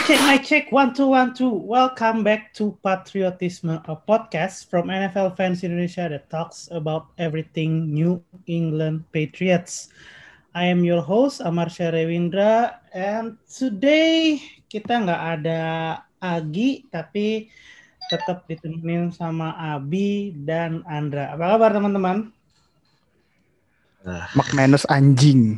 Mic check, 1 2 1 2. Welcome back to Patriotisme, a podcast from NFL Fans Indonesia that talks about everything New England Patriots. I am your host Amar Syarewindra, and today kita nggak ada Agi, tapi tetap ditemenin sama Abi dan Andra. Apa kabar teman-teman? McManus anjing.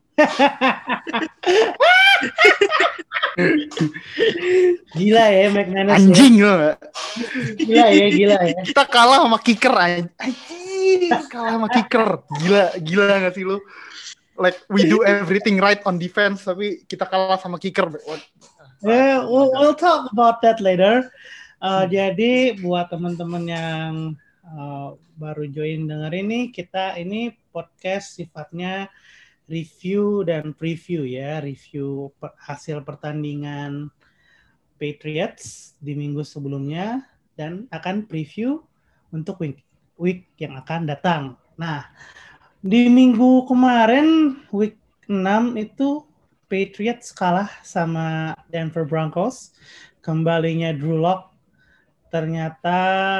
Gila ya McManus anjing ya. Lo gak? Gila ya. Kita kalah sama kicker anjing. Kalah sama kicker. Gila gak sih lu? Like we do everything right on defense, tapi kita kalah sama kicker. We'll talk about that later. Jadi buat teman-teman yang baru join denger ini podcast sifatnya review dan preview ya, review hasil pertandingan Patriots di minggu sebelumnya dan akan preview untuk week yang akan datang. Nah, di minggu kemarin week 6 itu Patriots kalah sama Denver Broncos. Kembalinya Drew Lock ternyata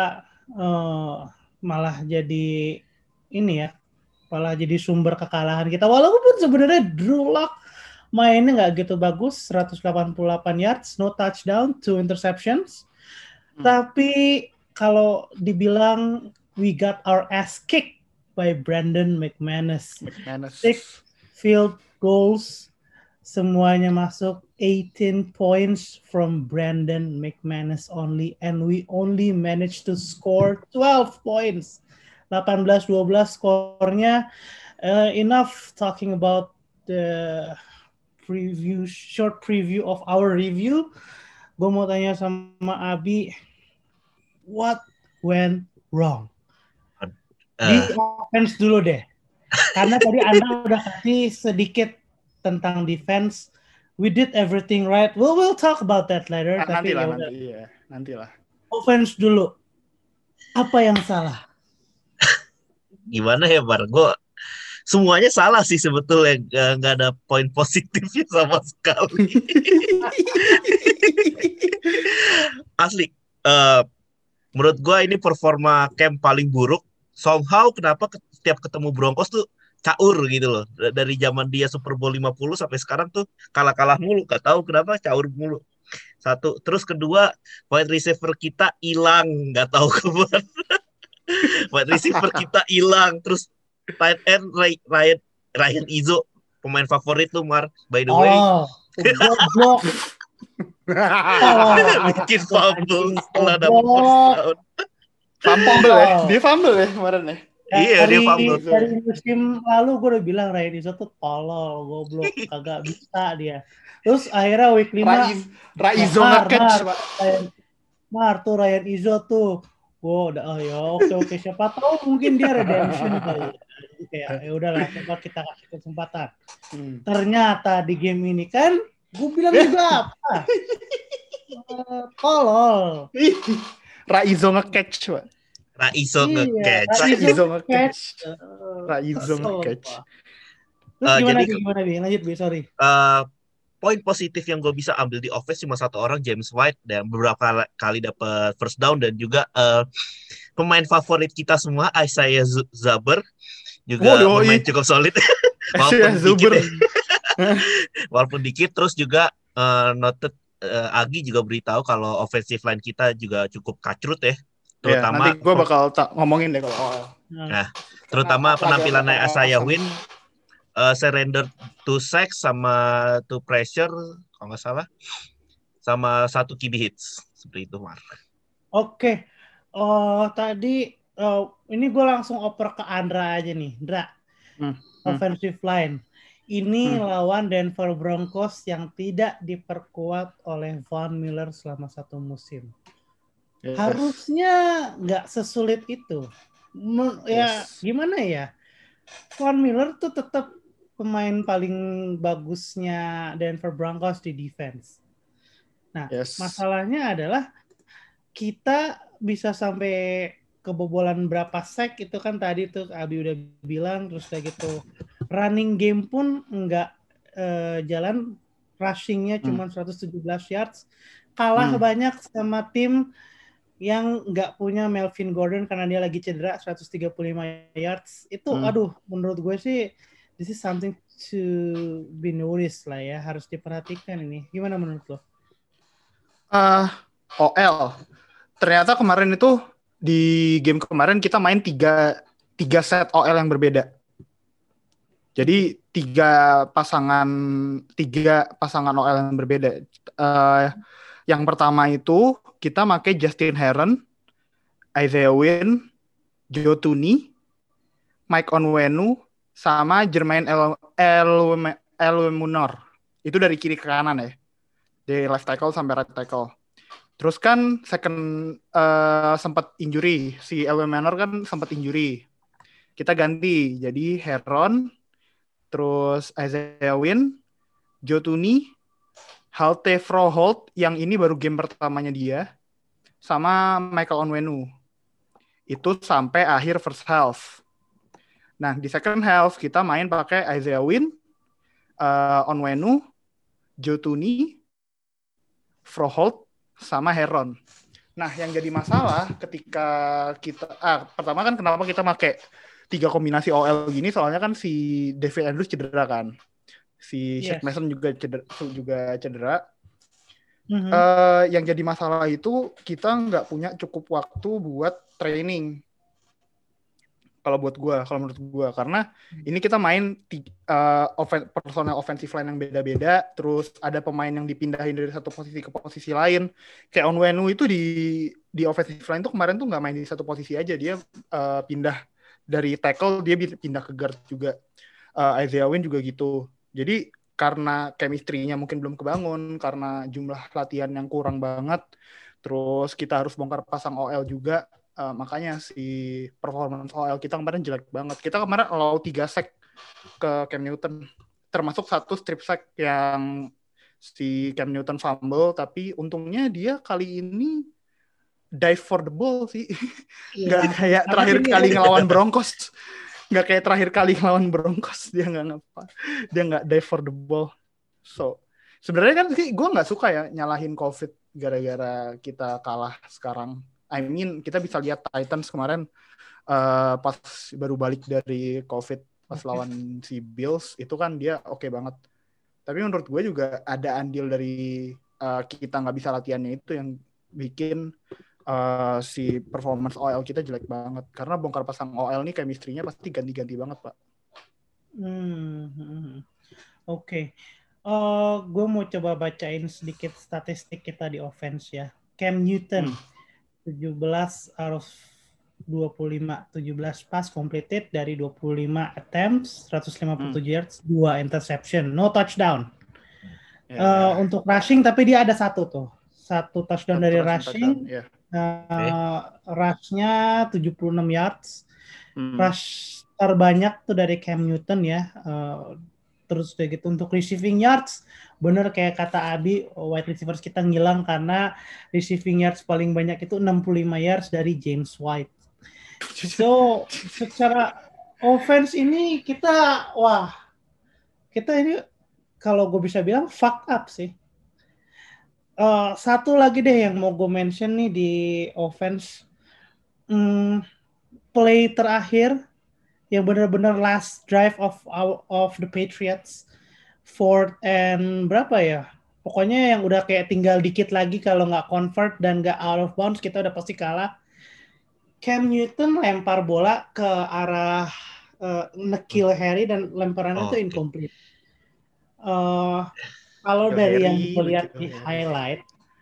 malah jadi sumber kekalahan kita. Walaupun sebenarnya Drew Lock mainnya nggak gitu bagus, 188 yards, no touchdown, 2 interceptions. Tapi kalau dibilang we got our ass kicked by Brandon McManus. 6 field goals, semuanya masuk, 18 points from Brandon McManus only, and we only managed to score 12 points. 18-12 skornya. Enough talking about the short preview of our review. Gue mau tanya sama Abi, what went wrong? Di offense dulu deh. Karena tadi Anda udah kasih sedikit tentang defense. We did everything right. We'll talk about that later. Nantilah. Offense dulu. Apa yang salah? Gimana ya Bar? Semuanya salah sih sebetulnya. Nggak ada poin positifnya sama sekali. Asli. Menurut gue ini performa camp paling buruk. Somehow kenapa setiap ketemu Broncos tuh caur gitu loh. Dari zaman dia Super Bowl 50 sampai sekarang tuh kalah-kalah mulu. Gak tahu kenapa caur mulu. Satu. Terus kedua, wide receiver kita hilang. Gak tahu kemana. Wide receiver kita hilang. Terus tight end Ryan Izzo, pemain favorit lu Mar, by the way. Goblok. Bikin fumble setelah dapat first down. Dia fumble ya kemarin ya. Iya, dia fumble. Dari musim lalu gue udah bilang Ryan Izzo tuh tolol, goblok, kagak bisa dia. Terus akhirnya week 5 Raizo nge-catch, Pak. Tuh Ryan Izzo tuh. Udah oke, siapa tahu mungkin dia redemption kali. Kayak ya udahlah, coba kita kasih kesempatan. Ternyata di game ini kan gue bilang juga apa? Tolol. Raizo nge-catch, Pak. Raizo nge-catch. Terus gimana Bi? Lanjut Bi, sorry. Poin positif yang gue bisa ambil di offense cuma satu orang, James White, dan beberapa kali dapat first down, dan juga pemain favorit kita semua, Isaiah Zuber, juga pemain cukup solid. Walaupun dikit. Terus juga noted Agi juga beritahu kalau offensive line kita juga cukup kacrut ya. Terutama nanti gue bakal ngomongin deh kalau. Nah, terutama penampilannya Isaiah Wynn, surrender to sack sama to pressure kalau nggak salah, sama 1 QB hits seperti itu Mar. Oke. Tadi ini gue langsung oper ke Andra aja nih, Andra. Offensive line. Ini lawan Denver Broncos yang tidak diperkuat oleh Von Miller selama 1 musim. Yes. Harusnya nggak sesulit itu. Gimana ya? Von Miller tuh tetap pemain paling bagusnya Denver Broncos di defense. Nah, masalahnya adalah kita bisa sampai kebobolan berapa sack itu kan tadi tuh Abi udah bilang, terus kayak gitu running game pun nggak jalan rushing-nya cuma 117 yards, kalah banyak sama tim yang nggak punya Melvin Gordon karena dia lagi cedera 135 yards. Itu aduh, menurut gue sih this is something to be noticed lah ya, harus diperhatikan ini. Gimana menurut lo? OL. Ternyata kemarin itu di game kemarin kita main tiga set OL yang berbeda. Jadi tiga pasangan OL yang berbeda. Yang pertama itu kita pakai Justin Herron, Isaiah Wynn, Joe Thuney, Mike Onwenu, sama Jermaine Elmunor. Itu dari kiri ke kanan ya. Dari left tackle sampai right tackle. Terus kan sempat injury. Si Elmunor kan sempat injury. Kita ganti. Jadi Herron, terus Isaiah Wynn, Joe Thuney, Halte Froholt, yang ini baru game pertamanya dia, sama Michael Onwenu. Itu sampai akhir first half. Nah, di second half kita main pakai Isaiah Wynn, Onwenu, Joe Thuney, Froholt, sama Herron. Nah, yang jadi masalah ketika kita... pertama kan kenapa kita pakai 3 kombinasi OL gini, soalnya kan si David Andrews cedera kan. Si Shaq Mason juga cedera. Yang jadi masalah itu kita nggak punya cukup waktu buat training. Kalau menurut gue, karena ini kita main personal offensive line yang beda-beda, terus ada pemain yang dipindahin dari satu posisi ke posisi lain. Kayak Onwenu itu di offensive line tuh kemarin tuh nggak main di satu posisi aja, dia pindah dari tackle, dia pindah ke guard juga. Isaiah Wynn juga gitu. Jadi karena chemistry-nya mungkin belum kebangun, karena jumlah latihan yang kurang banget, terus kita harus bongkar pasang OL juga, makanya si performance OL kita kemarin jelek banget. Kita kemarin allow 3 sack ke Cam Newton, termasuk 1 strip sack yang si Cam Newton fumble, tapi untungnya dia kali ini dive for the ball sih. Nggak kayak terakhir kali ngelawan Broncos. Dia nggak dive for the ball. So sebenarnya kan sih gue nggak suka ya nyalahin COVID gara-gara kita kalah sekarang. I mean kita bisa lihat Titans kemarin pas baru balik dari COVID pas lawan si Bills, itu kan dia oke banget. Tapi menurut gue juga ada andil dari kita nggak bisa latihannya itu yang bikin si performance OL kita jelek banget. Karena bongkar pasang OL nih chemistry-nya pasti ganti-ganti banget, Pak. Oke. Gue mau coba bacain sedikit statistik kita di offense ya. Cam Newton 17 out of 25, 17 pass completed dari 25 attempts, 157 yards, 2 interception, no touchdown. Untuk rushing tapi dia ada 1 touchdown dari rushing. Rush-nya 76 yards. Rush terbanyak tuh dari Cam Newton ya. Terus udah gitu untuk receiving yards, bener kayak kata Abi, wide receivers kita ngilang karena receiving yards paling banyak itu 65 yards dari James White. So secara offense ini kita ini kalau gue bisa bilang fuck up sih. Satu lagi deh yang mau gue mention nih di offense, play terakhir yang benar-benar last drive of the Patriots, 4th and berapa ya? Pokoknya yang udah kayak tinggal dikit lagi kalau nggak convert dan nggak out of bounds kita udah pasti kalah. Cam Newton lempar bola ke arah N'Keal Harry dan lemparannya itu incomplete. Kalau dari yang dilihat di highlight,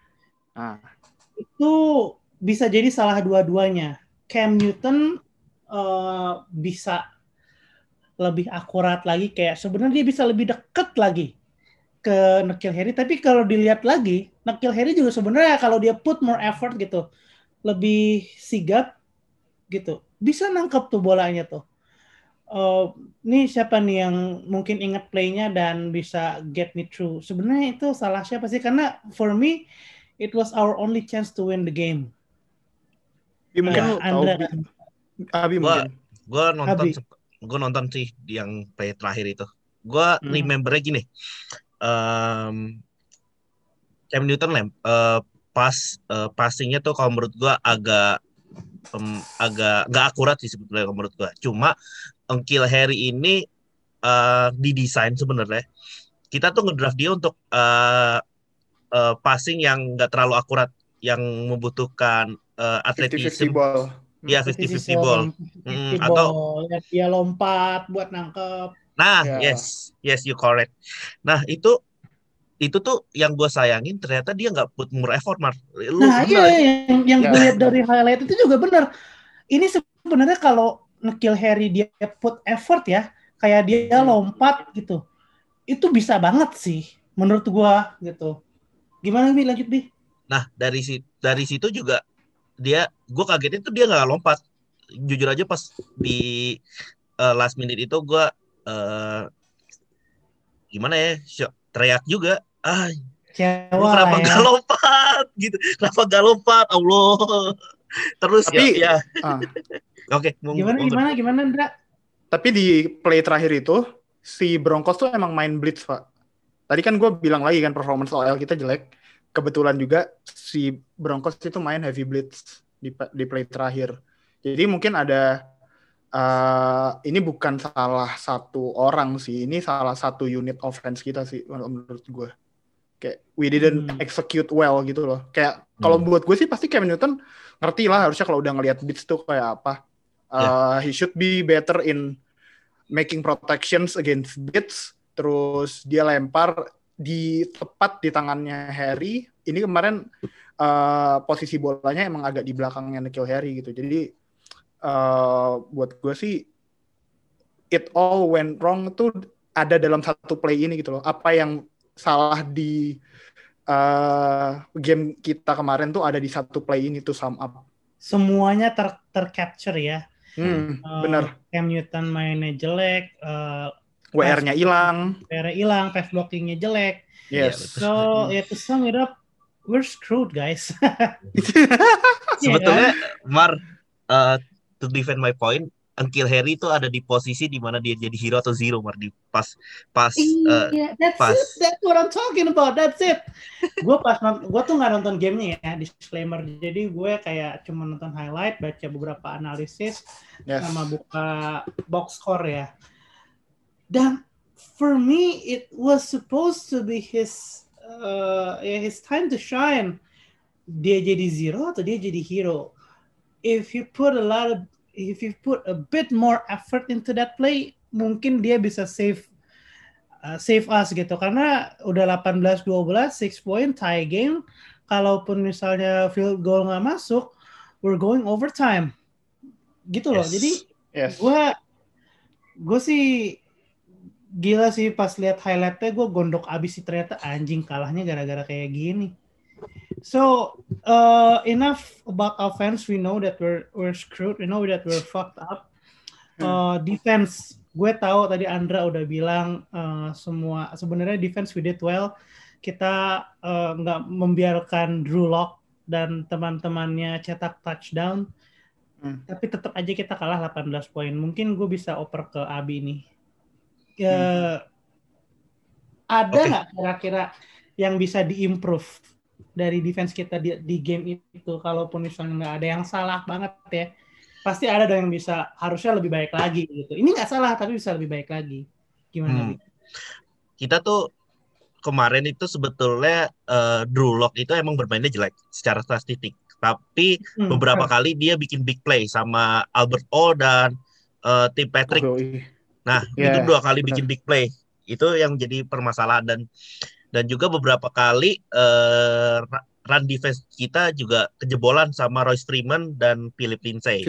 itu bisa jadi salah dua-duanya. Cam Newton bisa lebih akurat lagi, kayak sebenarnya dia bisa lebih dekat lagi ke N'Keal Harry, tapi kalau dilihat lagi, N'Keal Harry juga sebenarnya kalau dia put more effort gitu, lebih sigap gitu, bisa nangkep tuh bolanya tuh. Nih siapa nih yang mungkin ingat playnya dan bisa get me through? Sebenarnya itu salah siapa sih? Karena for me it was our only chance to win the game. Mungkin Abi mungkin. Gue nonton sih yang play terakhir itu. Gue remembernya gini. Cam Newton passingnya tuh kalau menurut gua agak nggak akurat sih sebetulnya kalau menurut gua. Cuma N'Keal Harry ini didesain sebenarnya. Kita tuh ngedraft dia untuk passing yang nggak terlalu akurat, yang membutuhkan 50-50 atletism. ball. Ya, 50-50 ball. Atau lihat dia lompat buat nangkep. Yes, you correct. Nah, itu tuh yang gue sayangin, ternyata dia nggak put more effort, Mar. Yang gue lihat dari highlight itu juga benar. Ini sebenarnya kalau N'Keal Harry dia put effort ya, kayak dia lompat gitu, itu bisa banget sih menurut gue gitu. Gimana Bi, lanjut Bi? Nah, dari situ juga gue kagetnya tuh dia nggak lompat. Jujur aja pas di last minute itu gue gimana ya, teriak juga, lu kenapa nggak lompat gitu, kenapa nggak lompat, Allah. Terus tapi oke, gimana Ndra? Tapi di play terakhir itu si Broncos tuh emang main blitz, Pak. Tadi kan gue bilang lagi kan performance OL kita jelek. Kebetulan juga si Broncos itu main heavy blitz di play terakhir. Jadi mungkin ada ini bukan salah satu orang sih, ini salah satu unit offense kita sih menurut gue. Kayak we didn't execute well gitu loh. Kayak kalau buat gue sih pasti Cam Newton ngerti lah harusnya kalau udah ngelihat blitz tuh kayak apa. He should be better in making protections against blitz. Terus dia lempar tepat di tangannya Harry. Ini kemarin posisi bolanya emang agak di belakangnya N'Keal Harry gitu. Jadi buat gue sih it all went wrong tuh ada dalam satu play ini gitu loh. Apa yang salah di game kita kemarin tuh ada di satu play ini tuh sum up. Semuanya tercapture ya. Bener. Cam Newton mainnya jelek, WR-nya hilang, pass blockingnya jelek. Yes. So to sum it up, we're screwed guys. Sebetulnya Mar, to defend my point, N'Keal Harry itu ada di posisi di mana dia jadi hero atau zero, Mar, di pas. That's what I'm talking about. That's it. Gue tuh nggak nonton gamenya ya, disclaimer. Jadi gue kayak cuma nonton highlight, baca beberapa analisis, sama buka box score ya. Dan for me it was supposed to be his time to shine. Dia jadi zero atau dia jadi hero? If you put a bit more effort into that play, mungkin dia bisa save us gitu, karena udah 18-12, 6 point tie game. Kalaupun misalnya field goal nggak masuk, we're going overtime gitu loh. Jadi gue sih gila sih pas lihat highlightnya, gue gondok abis sih, ternyata anjing kalahnya gara-gara kayak gini. So enough about offense. We know that we're screwed. We know that we're fucked up. Defense, gue tahu tadi Andra udah bilang semua sebenarnya defense we did well. Kita nggak membiarkan Drew Lock dan teman-temannya cetak touchdown. Tapi tetap aja kita kalah 18 poin. Mungkin gue bisa oper ke Abi nih. Ada nggak kira-kira yang bisa diimprove dari defense kita di game itu? Kalaupun misalnya nggak ada yang salah banget ya, pasti ada dong yang bisa, harusnya lebih baik lagi gitu. Ini nggak salah tapi bisa lebih baik lagi. Gimana Bi? Kita tuh kemarin itu sebetulnya Drew Lock itu emang bermainnya jelek secara statistik, tapi beberapa kali dia bikin big play sama Albert O dan Tim Patrick. Nah, itu 2 kali bikin big play. Itu yang jadi permasalahan, dan juga beberapa kali run defense kita juga kejebolan sama Royce Freeman dan Philip Lindsay.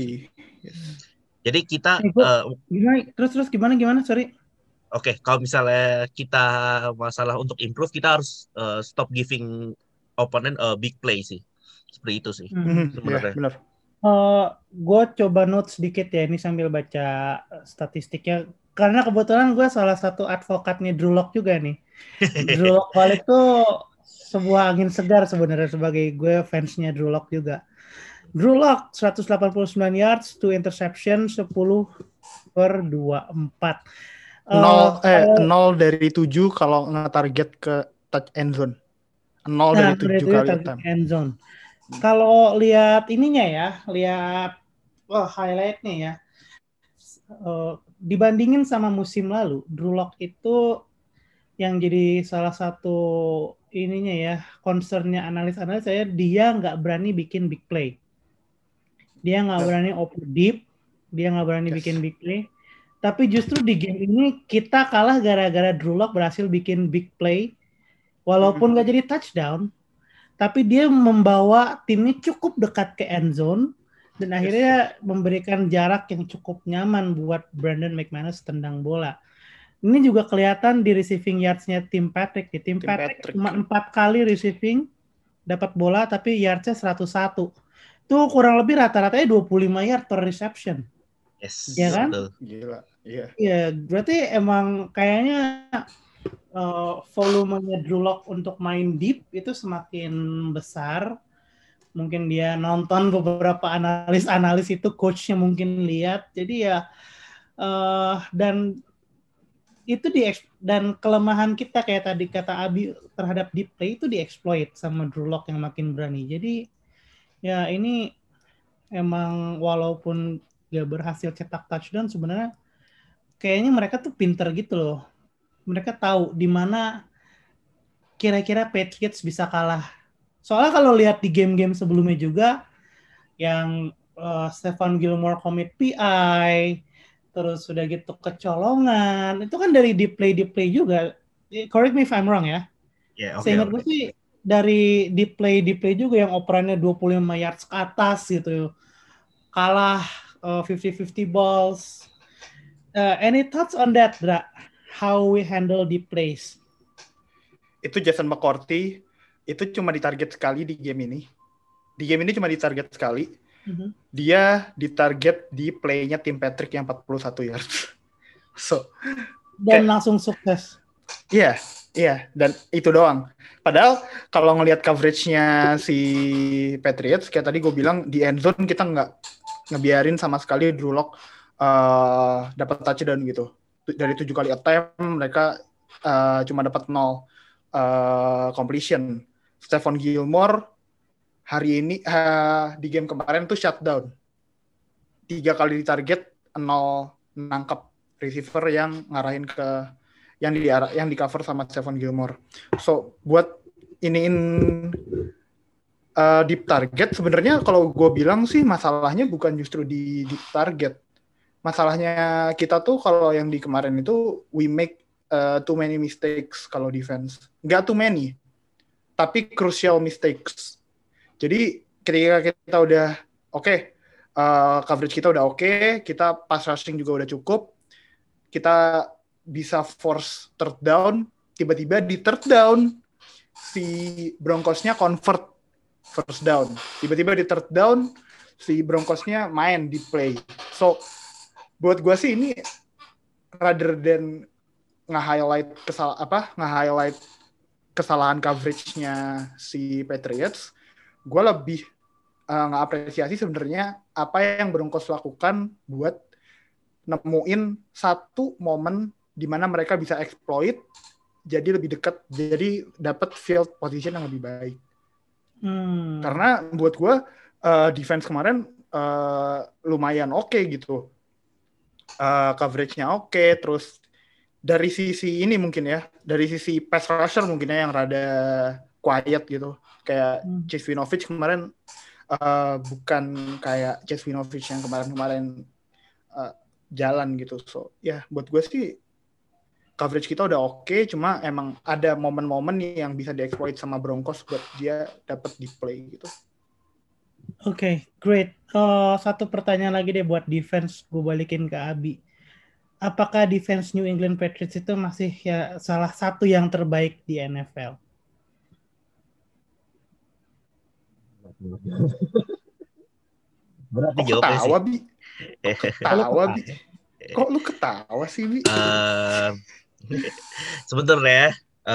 Jadi kita terus gimana sorry. Oke, kalau misalnya kita masalah untuk improve, kita harus stop giving opponent big play sih. Seperti itu sih sebenarnya. Benar. Gue coba note sedikit ya ini sambil baca statistiknya, karena kebetulan gue salah satu advokatnya Drew Lock juga nih. Drew Lock balik tuh sebuah angin segar sebenarnya, sebagai gue fansnya Drew Lock juga. Drew Lock 189 yards, 2 interception, 10/24. Kalau 0 dari 7 kalau nge-target ke touch end zone. 0 dari 7 kali target attempt. end zone. Kalau lihat ininya ya, lihat highlightnya ya, dibandingin sama musim lalu, Drew Lock itu yang jadi salah satu ininya ya, concernnya analis-analis saya, dia nggak berani bikin big play. Dia nggak berani open deep, dia nggak berani bikin big play. Tapi justru di game ini kita kalah gara-gara Drew Lock berhasil bikin big play, walaupun nggak jadi touchdown, tapi dia membawa timnya cukup dekat ke end zone dan akhirnya memberikan jarak yang cukup nyaman buat Brandon McManus tendang bola. Ini juga kelihatan di receiving yards-nya Tim Patrick. Tim Patrick cuma 4 kali receiving dapat bola tapi yards-nya 101. Itu kurang lebih rata-ratanya 25 yard per reception. Yes, ya kan? betul. Gila, iya. Iya, berarti emang kayaknya volumenya Drew Lock untuk main deep itu semakin besar. Mungkin dia nonton beberapa analis itu, coachnya mungkin lihat. Jadi ya, dan itu dan kelemahan kita kayak tadi kata Abi terhadap deep play itu dieksploit sama Drew Lock yang makin berani. Jadi ya ini emang walaupun gak berhasil cetak touchdown, sebenarnya kayaknya mereka tuh pinter gitu loh. Mereka tahu di mana kira-kira Patriots bisa kalah. Soalnya kalau lihat di game-game sebelumnya juga, yang Stephon Gilmore commit PI, terus sudah gitu kecolongan, itu kan dari deep play juga. Correct me if I'm wrong ya. Ya, oke. Seingat gue sih dari deep play juga yang operannya 25 yards ke atas gitu. Kalah 50-50 balls. Any thoughts on that, Dra? How we handle deep plays? Itu Jason McCourty itu cuma ditarget sekali di game ini. Di game ini cuma ditarget sekali. Dia ditarget di play-nya Tim Patrick yang 41 yards. Dan langsung sukses. Iya, dan itu doang. Padahal kalau ngelihat coverage-nya si Patriots, kayak tadi gue bilang, di end zone kita nggak ngebiarin sama sekali Drew Lock dapat touchdown gitu. Dari 7 kali attempt, mereka cuma dapat 0 completion. Stephon Gilmore hari ini di game kemarin tuh shutdown. 3 kali ditarget, 0 nangkap receiver yang ngarahin ke yang di cover sama Stephon Gilmore. So buat iniin deep target sebenarnya kalau gue bilang sih masalahnya bukan justru di deep target. Masalahnya kita tuh kalau yang di kemarin itu we make too many mistakes kalau defense. Nggak too many, tapi crucial mistakes. Jadi ketika kita udah coverage kita udah oke, kita pass rushing juga udah cukup, kita bisa force third down, tiba-tiba di third down si Broncos-nya convert first down. Tiba-tiba di third down si Broncos-nya main di play. So buat gue sih ini rather than nge-highlight kesalahan coverage-nya si Patriots, gue lebih nge-apresiasi sebenarnya apa yang Broncos lakukan buat nemuin satu momen di mana mereka bisa exploit jadi lebih dekat, jadi dapat field position yang lebih baik. Karena buat gue defense kemarin lumayan oke gitu, coverage-nya oke, terus dari sisi ini mungkin ya, dari sisi pass rusher mungkin ya yang rada quiet gitu, kayak Chase Winovich kemarin bukan kayak Chase Winovich yang kemarin jalan gitu. So ya buat gue sih coverage kita udah oke, cuma emang ada momen-momen yang bisa dieksploit sama Broncos buat dia dapat di play gitu. Oke, great. Satu pertanyaan lagi deh buat defense, gue balikin ke Abi. Apakah defense New England Patriots itu masih ya salah satu yang terbaik di NFL? Berat Kok ketawa, Bi? Kok lu ketawa sih, Bi? Sebenarnya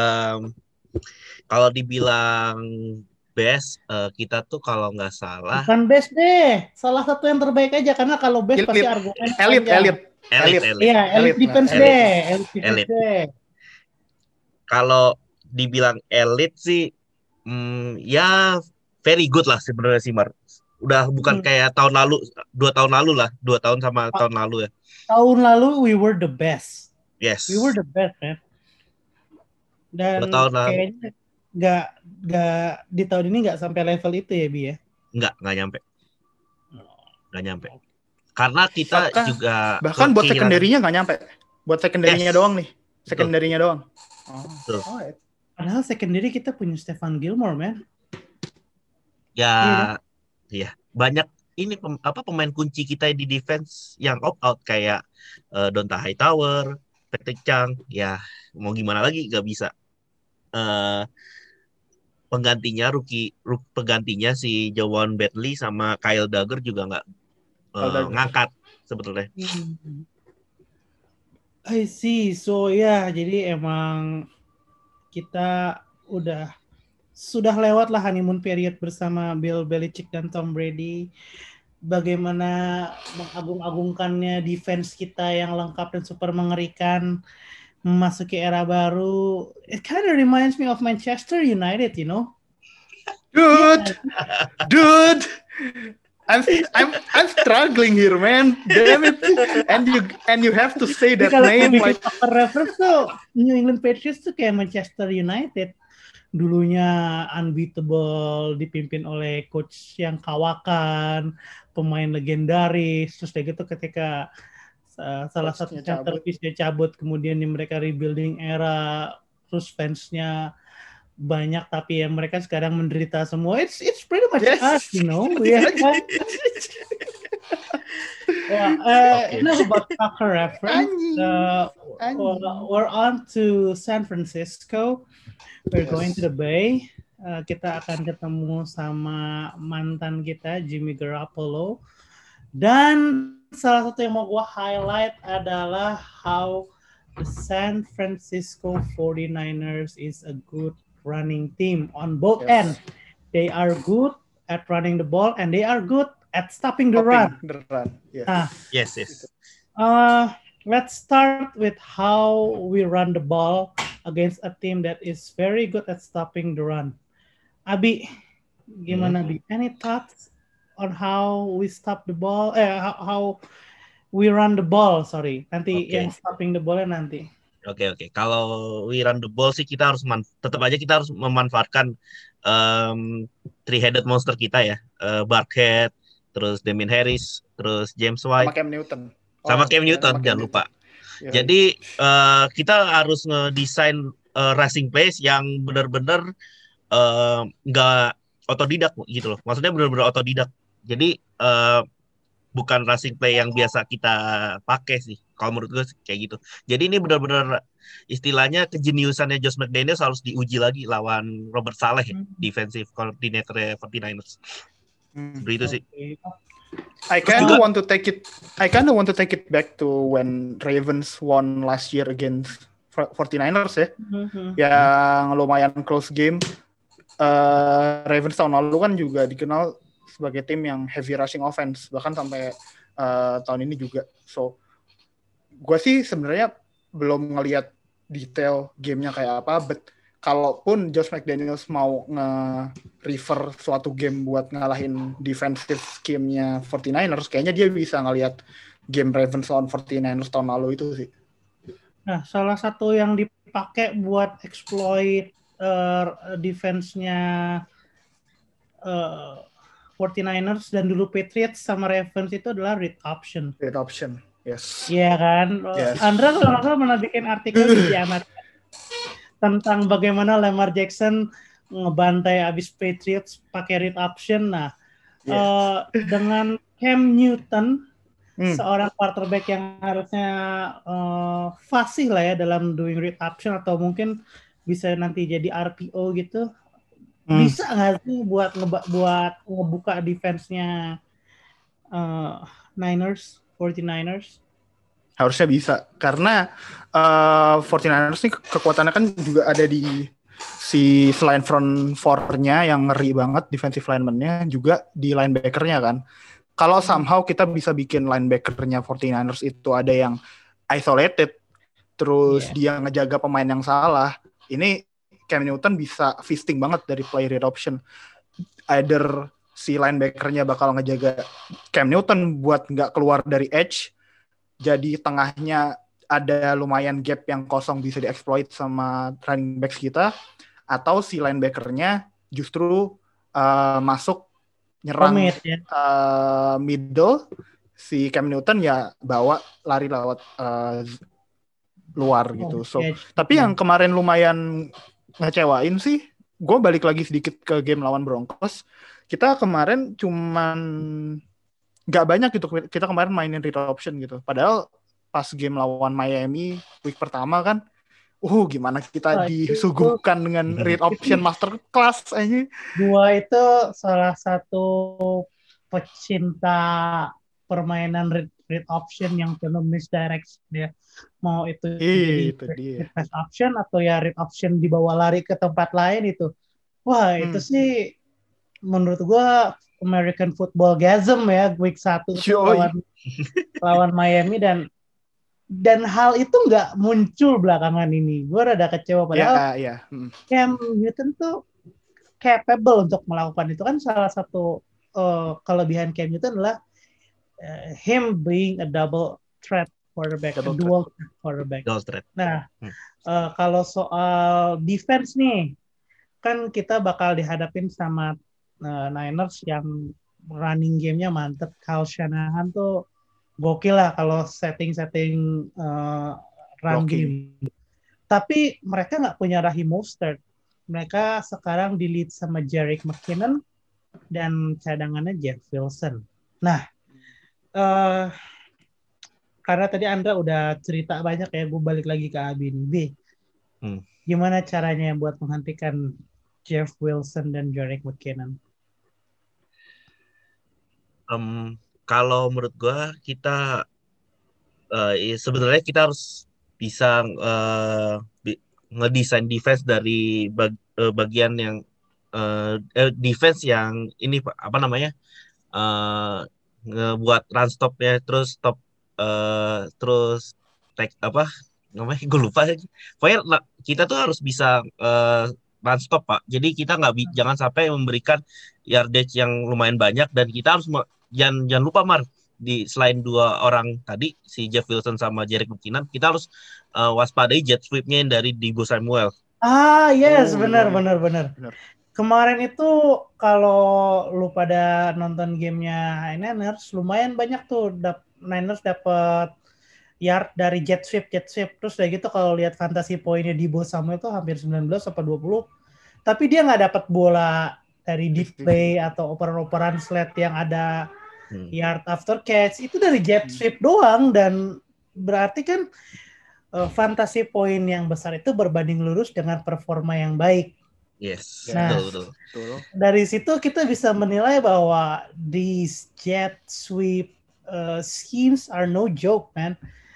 kalau dibilang best, kita tuh kalau nggak salah. Bukan best deh, salah satu yang terbaik aja, karena kalau best pasti argumen Elite. Elite. Iya, elite defense Elite. deh. Elite defense Elite. deh. Kalau dibilang elite sih, ya very good lah sebenarnya sih Mar. Udah bukan kayak tahun lalu, 2 tahun lalu lah, 2 tahun sama tahun lalu ya. Tahun lalu we were the best. Yes. We were the best, man. Dan 2 tahun lalu. kayaknya nggak di tahun ini nggak sampai level itu ya, Bi ya? Nggak nyampe. Karena kita bahkan buat secondary-nya nggak nyampe. Buat secondary-nya doang nih. Secondary-nya doang. Alright. Padahal secondary kita punya Stephon Gilmore, man. Ya, iya. Banyak ini pemain kunci kita di defense yang opt out kayak Donta Hightower, Patrick Chung. Ya, mau gimana lagi nggak bisa. Penggantinya si Jawan Bentley sama Kyle Dagger juga nggak ngangkat sebetulnya. I see. So jadi emang kita sudah lewat lah honeymoon period bersama Bill Belichick dan Tom Brady. Bagaimana mengagung-agungkannya defense kita yang lengkap dan super mengerikan memasuki era baru. It kind of reminds me of Manchester United, you know. Dude. I'm struggling here, man. Damn it. And you have to say that name like reference tuh New England Patriots tuh kayak Manchester United. Dulunya unbeatable, dipimpin oleh coach yang kawakan, pemain legendaris, terus kayak gitu ketika salah satu centerpiece-nya cabut, kemudian mereka rebuilding era, terus fansnya banyak tapi ya mereka sekarang menderita semua. It's pretty much us, you know. Enough about soccer reference. We're on to San Francisco. We're going to the Bay. Kita akan ketemu sama mantan kita Jimmy Garoppolo. Dan salah satu yang mau gue highlight adalah how the San Francisco 49ers is a good running team on both ends. They are good at running the ball and they are good at stopping the run. Yes. Let's start with how we run the ball against a team that is very good at stopping the run. Abi, gimana Abi? Any thoughts on how we stop the ball? How we run the ball? Sorry, nanti yang stopping the ball nanti. Oke. Kalau we run the ball sih kita harus tetap aja kita harus memanfaatkan three-headed monster kita ya, Burkhead, terus Damien Harris, terus James White, sama Cam Newton, jangan lupa. Jadi kita harus ngedesain rushing plays yang benar-benar nggak otodidak gitu loh. Maksudnya benar-benar otodidak. Jadi bukan rushing play yang biasa kita pakai sih. Kalau menurut gue kayak gitu. Jadi ini benar-benar istilahnya kejeniusannya Josh McDaniels harus diuji lagi lawan Robert Saleh, defensive coordinator 49ers. Seperti itu sih. I kind of want to take it back to when Ravens won last year against 49ers ya. Yang lumayan close game. Ravens tahun lalu kan juga dikenal sebagai tim yang heavy rushing offense, bahkan sampai tahun ini juga. So, gue sih sebenarnya belum ngelihat detail gamenya kayak apa, but kalaupun Josh McDaniels mau nge-refer suatu game buat ngalahin defensive scheme-nya 49ers, kayaknya dia bisa ngelihat game Ravens lawan 49ers tahun lalu itu sih. Nah, salah satu yang dipakai buat exploit defense-nya 49ers dan dulu Patriots sama Ravens itu adalah read option. Read option, yes. Iya kan? Yes. Andra kalau nggak salah pernah bikin artikel di Jamat tentang bagaimana Lamar Jackson ngebantai abis Patriots pakai read option. Nah, dengan Cam Newton, seorang quarterback yang harusnya fasih lah ya dalam doing read option atau mungkin bisa nanti jadi RPO gitu. Bisa nggak sih buat ngebuka defense-nya 49ers? Harusnya bisa, karena 49ers ini kekuatannya kan juga ada di selain front four-nya yang ngeri banget, defensive lineman-nya juga di linebacker-nya kan. kalau somehow kita bisa bikin linebacker-nya 49ers itu ada yang isolated, terus dia ngejaga pemain yang salah, ini Cam Newton bisa feasting banget dari play read option. Either si linebacker-nya bakal ngejaga Cam Newton buat nggak keluar dari edge, jadi tengahnya ada lumayan gap yang kosong bisa dieksploit sama running backs kita, atau si linebacker-nya justru masuk nyerang middle, si Cam Newton ya bawa lari lewat luar gitu. So, tapi yang kemarin lumayan ngecewain sih, gue balik lagi sedikit ke game lawan Broncos. Kita kemarin cuman nggak banyak gitu, kita kemarin mainin read option gitu. Padahal pas game lawan Miami week pertama kan, gimana kita disuguhkan dengan read option masterclass aja. Gua itu salah satu pecinta permainan read option yang penuh misdirect ya. Mau itu jadi pass option atau ya read option dibawa lari ke tempat lain itu. Wah, itu sih menurut gua American football gasm ya week 1 lawan Miami, dan hal itu nggak muncul belakangan ini. Gue rada kecewa padahal Cam Newton tuh capable untuk melakukan itu. Kan salah satu kelebihan Cam Newton adalah him being a double threat quarterback, dual threat quarterback. Nah, kalau soal defense nih, kan kita bakal dihadapin sama Niners yang running game-nya mantep. Kyle Shanahan tuh gokil lah kalau setting run game. Tapi mereka nggak punya Raheem Mostert. Mereka sekarang di-lead sama Jerick McKinnon dan cadangannya Jeff Wilson. Nah, karena tadi Andra udah cerita banyak ya, gue balik lagi ke Abin B. Gimana caranya buat menghentikan Jeff Wilson dan Jerick McKinnon? Kalau menurut gue kita sebenarnya kita harus bisa ngedesain defense dari bagian yang defense yang ini apa namanya ngebuat run stopnya, terus stop terus take apa namanya gue lupa. Pokoknya kita tuh harus bisa run stop Pak. Jadi kita jangan sampai memberikan yardage yang lumayan banyak, dan kita harus jangan lupa Mar, selain dua orang tadi si Jeff Wilson sama Jerick McKinnon, kita harus waspadai jet sweep-nya yang dari Deebo Samuel. Yes, benar. Kemarin itu kalau lu pada nonton gamenya Niners, lumayan banyak tuh Niners dapat yard dari jet sweep. Terus kayak gitu kalau lihat fantasy poinnya Deebo Samuel itu hampir 19 atau 20. Tapi dia nggak dapat bola dari deep play atau operan-operan slot yang ada yard after catch. Itu dari jet sweep doang, dan berarti kan fantasy point yang besar itu berbanding lurus dengan performa yang baik. Yes, nah, betul. Dari situ kita bisa menilai bahwa these jet sweep schemes are no joke, man.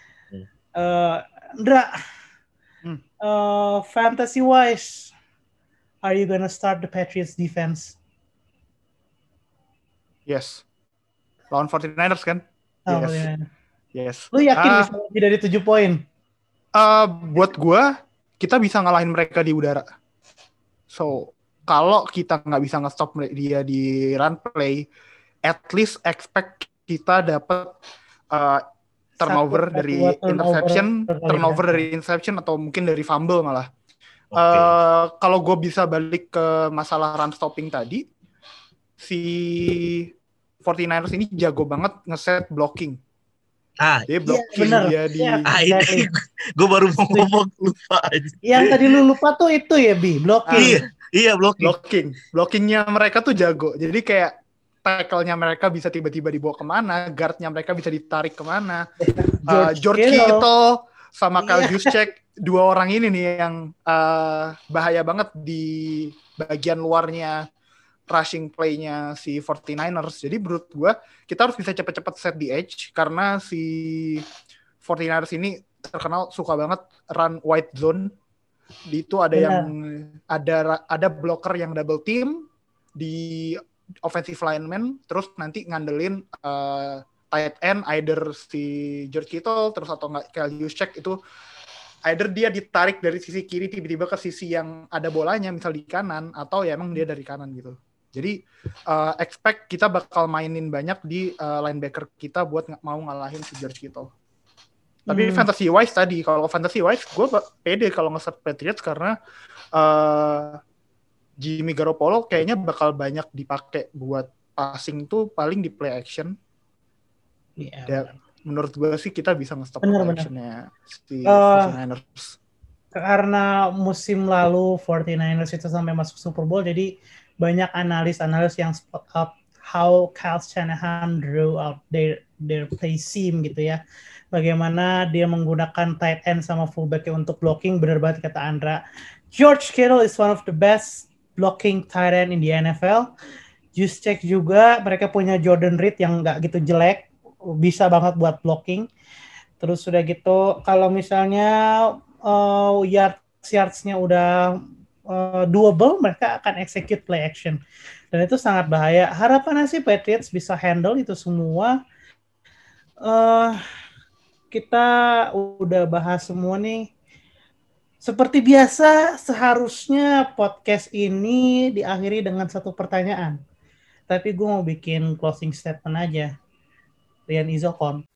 Ndra, fantasy wise, are you gonna start the Patriots defense? Yes. Lawan 49ers kan? Yes. Lu yakin bisa lebih dari 7 poin? Buat gua, kita bisa ngalahin mereka di udara. So, kalau kita nggak bisa nge-stop dia di run play, at least expect kita dapat turnover dari interception atau mungkin dari fumble malah. Kalau gue bisa balik ke masalah run stopping tadi, si 49ers ini jago banget ngeset blocking. Dia blocking gue baru mau ngomong, lupa aja. Yang tadi lu lupa tuh itu ya, Bi, blocking. Iya, blocking. Blockingnya mereka tuh jago. Jadi kayak tackle-nya mereka bisa tiba-tiba dibawa kemana, guard-nya mereka bisa ditarik kemana. George Kittle sama Kyle Juszczyk, dua orang ini nih yang bahaya banget di bagian luarnya rushing play-nya si 49ers. Jadi menurut gue, kita harus bisa cepat-cepat set di edge, karena si 49ers ini terkenal suka banget run wide zone. Di itu ada yang ada blocker yang double team, di offensive lineman, terus nanti ngandelin tight end, either si George Kittle, terus atau nggak Kyle Juszczyk itu, either dia ditarik dari sisi kiri tiba-tiba ke sisi yang ada bolanya, misal di kanan, atau ya emang dia dari kanan gitu. Jadi expect kita bakal mainin banyak di linebacker kita buat mau ngalahin si George Kittle. Tapi fantasy wise tadi, kalau fantasy wise gue pede kalau nge-set Patriots karena Jimmy Garoppolo kayaknya bakal banyak dipakai buat passing tuh paling di play action. Iya. Menurut gue sih kita bisa nge-stop play actionnya si 49ers. Karena musim lalu 49ers itu sampai masuk Super Bowl, jadi banyak analis yang spot up how Kyle Shanahan drew out their play scheme gitu ya. Bagaimana dia menggunakan tight end sama fullback untuk blocking. Benar banget kata Andra. George Kittle is one of the best blocking tight end in the NFL. Juszczyk juga, mereka punya Jordan Reed yang nggak gitu jelek, bisa banget buat blocking. Terus udah gitu, kalau misalnya yards-nya udah doable, mereka akan execute play action. Dan itu sangat bahaya. Harapannya sih Patriots bisa handle itu semua. Kita udah bahas semua nih. Seperti biasa, seharusnya podcast ini diakhiri dengan satu pertanyaan. Tapi gue mau bikin closing statement aja. Rian Izokon.